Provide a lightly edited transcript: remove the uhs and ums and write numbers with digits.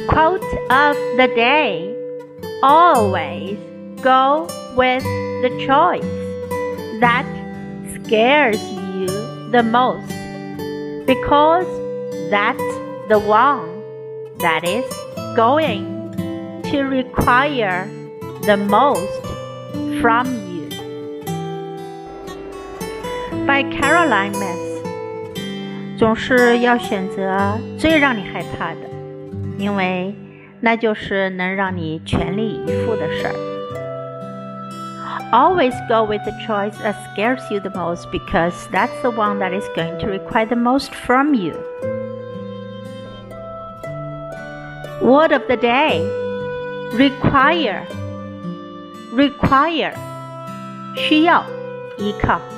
Quote of the day: Always go with the choice that scares you the most, because that's the one that is going to require the most from you. By Caroline Myss。 总是要选择最让你害怕的，因为那就是能让你全力以赴的事儿。Always go with the choice that scares you the most, because that's the one that is going to require the most from you. Word of the day: require. Require 需要依靠。